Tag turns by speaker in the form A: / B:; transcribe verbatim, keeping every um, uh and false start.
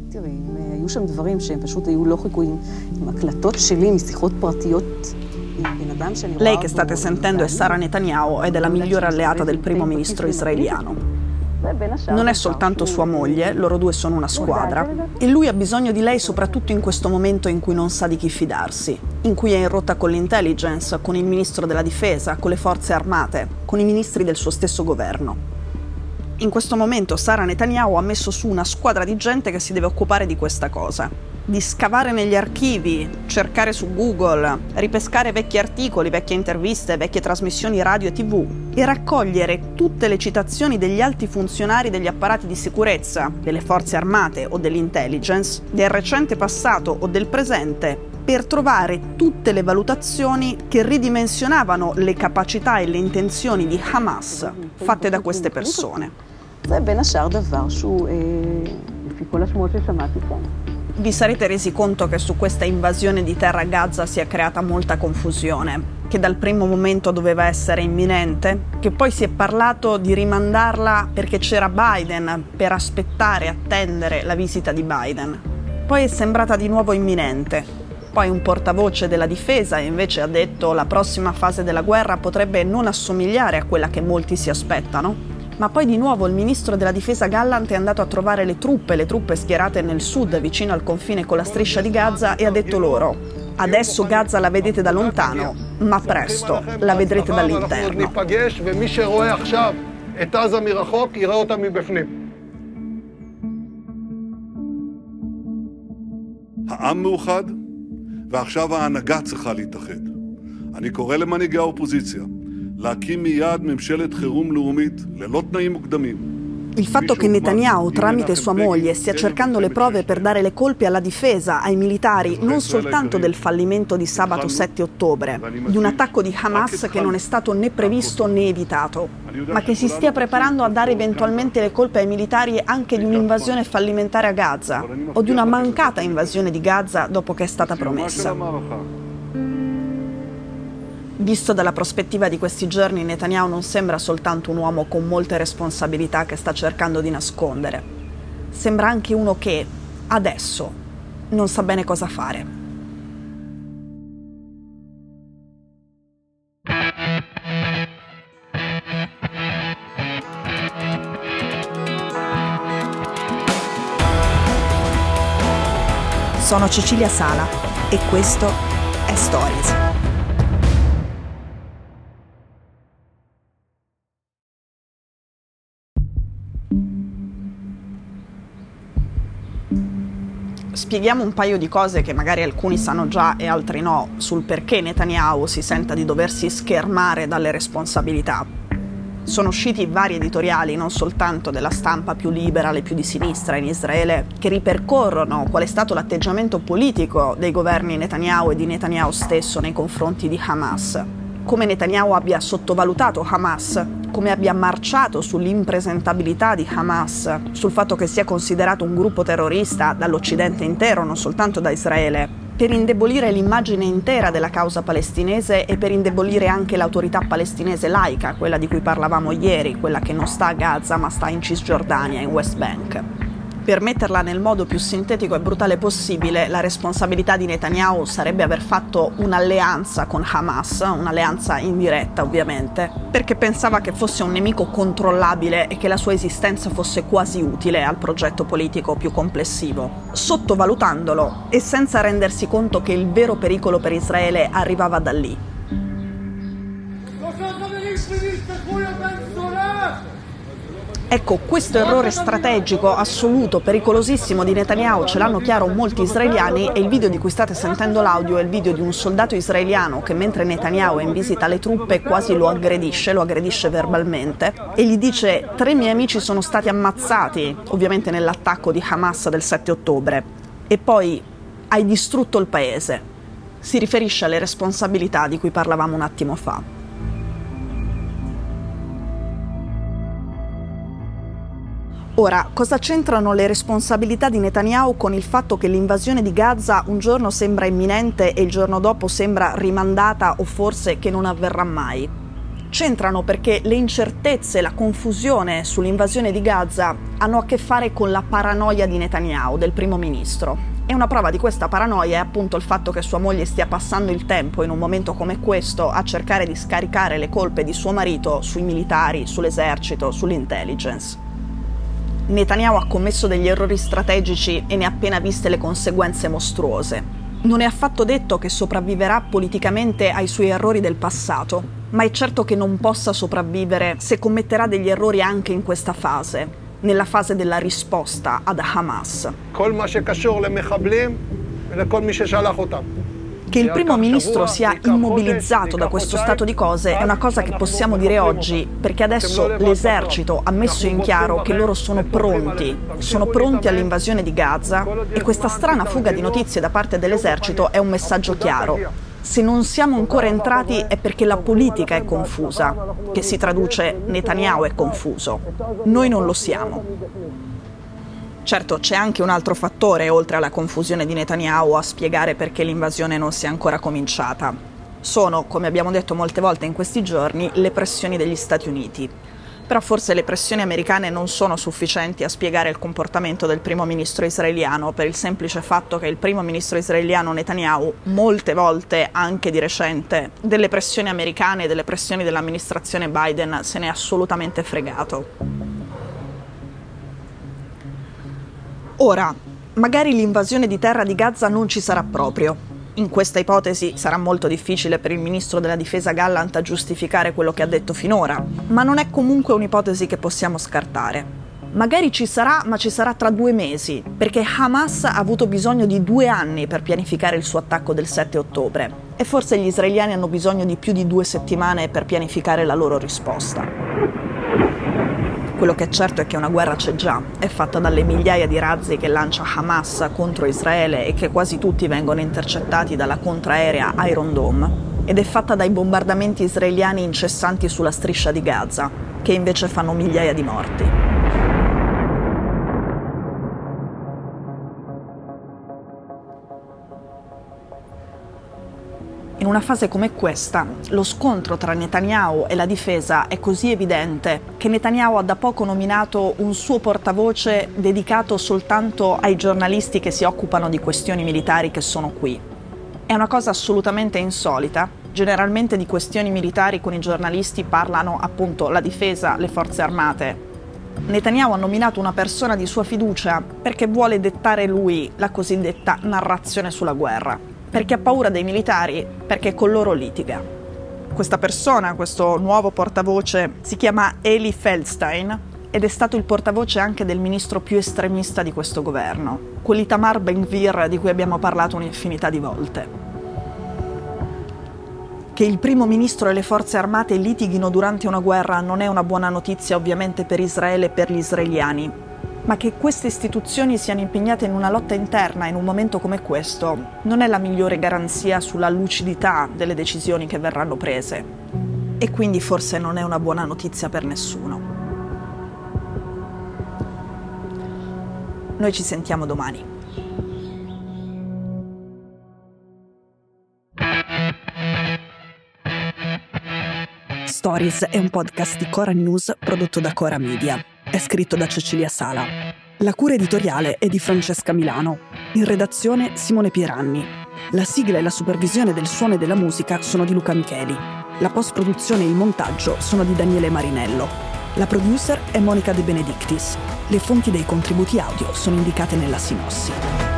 A: Lei che state sentendo è Sara Netanyahu ed è la migliore alleata del primo ministro israeliano. Non è soltanto sua moglie, loro due sono una squadra e lui ha bisogno di lei soprattutto in questo momento in cui non sa di chi fidarsi, in cui è in rotta con l'intelligence, con il ministro della difesa, con le forze armate, con i ministri del suo stesso governo. In questo momento Sara Netanyahu ha messo su una squadra di gente che si deve occupare di questa cosa, di scavare negli archivi, cercare su Google, ripescare vecchi articoli, vecchie interviste, vecchie trasmissioni radio e tv e raccogliere tutte le citazioni degli alti funzionari degli apparati di sicurezza, delle forze armate o dell'intelligence, del recente passato o del presente, per trovare tutte le valutazioni che ridimensionavano le capacità e le intenzioni di Hamas fatte da queste persone. Vi sarete resi conto che su questa invasione di terra a Gaza si è creata molta confusione, che dal primo momento doveva essere imminente, che poi si è parlato di rimandarla perché c'era Biden, per aspettare, attendere la visita di Biden. Poi è sembrata di nuovo imminente. Poi un portavoce della difesa invece ha detto la prossima fase della guerra potrebbe non assomigliare a quella che molti si aspettano. Ma poi di nuovo il ministro della difesa Gallant è andato a trovare le truppe, le truppe schierate nel sud, vicino al confine con la striscia di Gaza, e ha detto loro: adesso Gaza la vedete da lontano, ma presto la vedrete dall'interno.
B: העם מאוחד, ועכשיו ההנהגה צריכה להתאחד. אני קורא למנהיגי האופוזיציה להקים מיד ממשלת חירום לאומית ללא תנאים מוקדמים.
A: Il fatto che Netanyahu, tramite sua moglie, stia cercando le prove per dare le colpe alla difesa, ai militari, non soltanto del fallimento di sabato sette ottobre, di un attacco di Hamas che non è stato né previsto né evitato, ma che si stia preparando a dare eventualmente le colpe ai militari anche di un'invasione fallimentare a Gaza, o di una mancata invasione di Gaza dopo che è stata promessa. Visto dalla prospettiva di questi giorni, Netanyahu non sembra soltanto un uomo con molte responsabilità che sta cercando di nascondere. Sembra anche uno che, adesso, non sa bene cosa fare. Sono Cecilia Sala e questo è Stories. Spieghiamo un paio di cose che magari alcuni sanno già e altri no, sul perché Netanyahu si senta di doversi schermare dalle responsabilità. Sono usciti vari editoriali, non soltanto della stampa più liberale, più di sinistra in Israele, che ripercorrono qual è stato l'atteggiamento politico dei governi Netanyahu e di Netanyahu stesso nei confronti di Hamas. Come Netanyahu abbia sottovalutato Hamas, come abbia marciato sull'impresentabilità di Hamas, sul fatto che sia considerato un gruppo terrorista dall'Occidente intero, non soltanto da Israele, per indebolire l'immagine intera della causa palestinese e per indebolire anche l'autorità palestinese laica, quella di cui parlavamo ieri, quella che non sta a Gaza ma sta in Cisgiordania, in West Bank. Per metterla nel modo più sintetico e brutale possibile, la responsabilità di Netanyahu sarebbe aver fatto un'alleanza con Hamas, un'alleanza indiretta ovviamente, perché pensava che fosse un nemico controllabile e che la sua esistenza fosse quasi utile al progetto politico più complessivo, sottovalutandolo e senza rendersi conto che il vero pericolo per Israele arrivava da lì. Ecco, questo errore strategico, assoluto, pericolosissimo di Netanyahu ce l'hanno chiaro molti israeliani e il video di cui state sentendo l'audio è il video di un soldato israeliano che mentre Netanyahu è in visita alle truppe quasi lo aggredisce, lo aggredisce verbalmente e gli dice: tre miei amici sono stati ammazzati, ovviamente nell'attacco di Hamas del sette ottobre, e poi hai distrutto il paese. Si riferisce alle responsabilità di cui parlavamo un attimo fa. Ora, cosa c'entrano le responsabilità di Netanyahu con il fatto che l'invasione di Gaza un giorno sembra imminente e il giorno dopo sembra rimandata o forse che non avverrà mai? C'entrano perché le incertezze e la confusione sull'invasione di Gaza hanno a che fare con la paranoia di Netanyahu, del primo ministro. E una prova di questa paranoia è appunto il fatto che sua moglie stia passando il tempo in un momento come questo a cercare di scaricare le colpe di suo marito sui militari, sull'esercito, sull'intelligence. Netanyahu ha commesso degli errori strategici e ne ha appena viste le conseguenze mostruose. Non è affatto detto che sopravviverà politicamente ai suoi errori del passato, ma è certo che non possa sopravvivere se commetterà degli errori anche in questa fase, nella fase della risposta ad Hamas. Che il primo ministro sia immobilizzato da questo stato di cose è una cosa che possiamo dire oggi, perché adesso l'esercito ha messo in chiaro che loro sono pronti, sono pronti all'invasione di Gaza, e questa strana fuga di notizie da parte dell'esercito è un messaggio chiaro. Se non siamo ancora entrati è perché la politica è confusa, che si traduce Netanyahu è confuso. Noi non lo siamo. Certo, c'è anche un altro fattore, oltre alla confusione di Netanyahu, a spiegare perché l'invasione non sia ancora cominciata. Sono, come abbiamo detto molte volte in questi giorni, le pressioni degli Stati Uniti. Però forse le pressioni americane non sono sufficienti a spiegare il comportamento del primo ministro israeliano, per il semplice fatto che il primo ministro israeliano Netanyahu, molte volte, anche di recente, delle pressioni americane e delle pressioni dell'amministrazione Biden se n'è assolutamente fregato. Ora, magari l'invasione di terra di Gaza non ci sarà proprio. In questa ipotesi sarà molto difficile per il ministro della difesa Gallant giustificare quello che ha detto finora, ma non è comunque un'ipotesi che possiamo scartare. Magari ci sarà, ma ci sarà tra due mesi, perché Hamas ha avuto bisogno di due anni per pianificare il suo attacco del sette ottobre, e forse gli israeliani hanno bisogno di più di due settimane per pianificare la loro risposta. Quello che è certo è che una guerra c'è già, è fatta dalle migliaia di razzi che lancia Hamas contro Israele e che quasi tutti vengono intercettati dalla contraerea Iron Dome, ed è fatta dai bombardamenti israeliani incessanti sulla striscia di Gaza, che invece fanno migliaia di morti. In una fase come questa, lo scontro tra Netanyahu e la difesa è così evidente che Netanyahu ha da poco nominato un suo portavoce dedicato soltanto ai giornalisti che si occupano di questioni militari che sono qui. È una cosa assolutamente insolita. Generalmente di questioni militari con i giornalisti parlano appunto la difesa, le forze armate. Netanyahu ha nominato una persona di sua fiducia perché vuole dettare lui la cosiddetta narrazione sulla guerra. Perché ha paura dei militari, perché con loro litiga. Questa persona, questo nuovo portavoce, si chiama Eli Feldstein ed è stato il portavoce anche del ministro più estremista di questo governo, quell'Itamar Ben-Gvir di cui abbiamo parlato un'infinità di volte. Che il primo ministro e le forze armate litighino durante una guerra non è una buona notizia ovviamente per Israele e per gli israeliani, ma che queste istituzioni siano impegnate in una lotta interna in un momento come questo non è la migliore garanzia sulla lucidità delle decisioni che verranno prese. E quindi forse non è una buona notizia per nessuno. Noi ci sentiamo domani. Stories è un podcast di Cora News prodotto da Cora Media. È scritto da Cecilia Sala. La cura editoriale è di Francesca Milano. In redazione Simone Pieranni. La sigla e la supervisione del suono e della musica sono di Luca Micheli. La post-produzione e il montaggio sono di Daniele Marinello. La producer è Monica De Benedictis. Le fonti dei contributi audio sono indicate nella sinossi.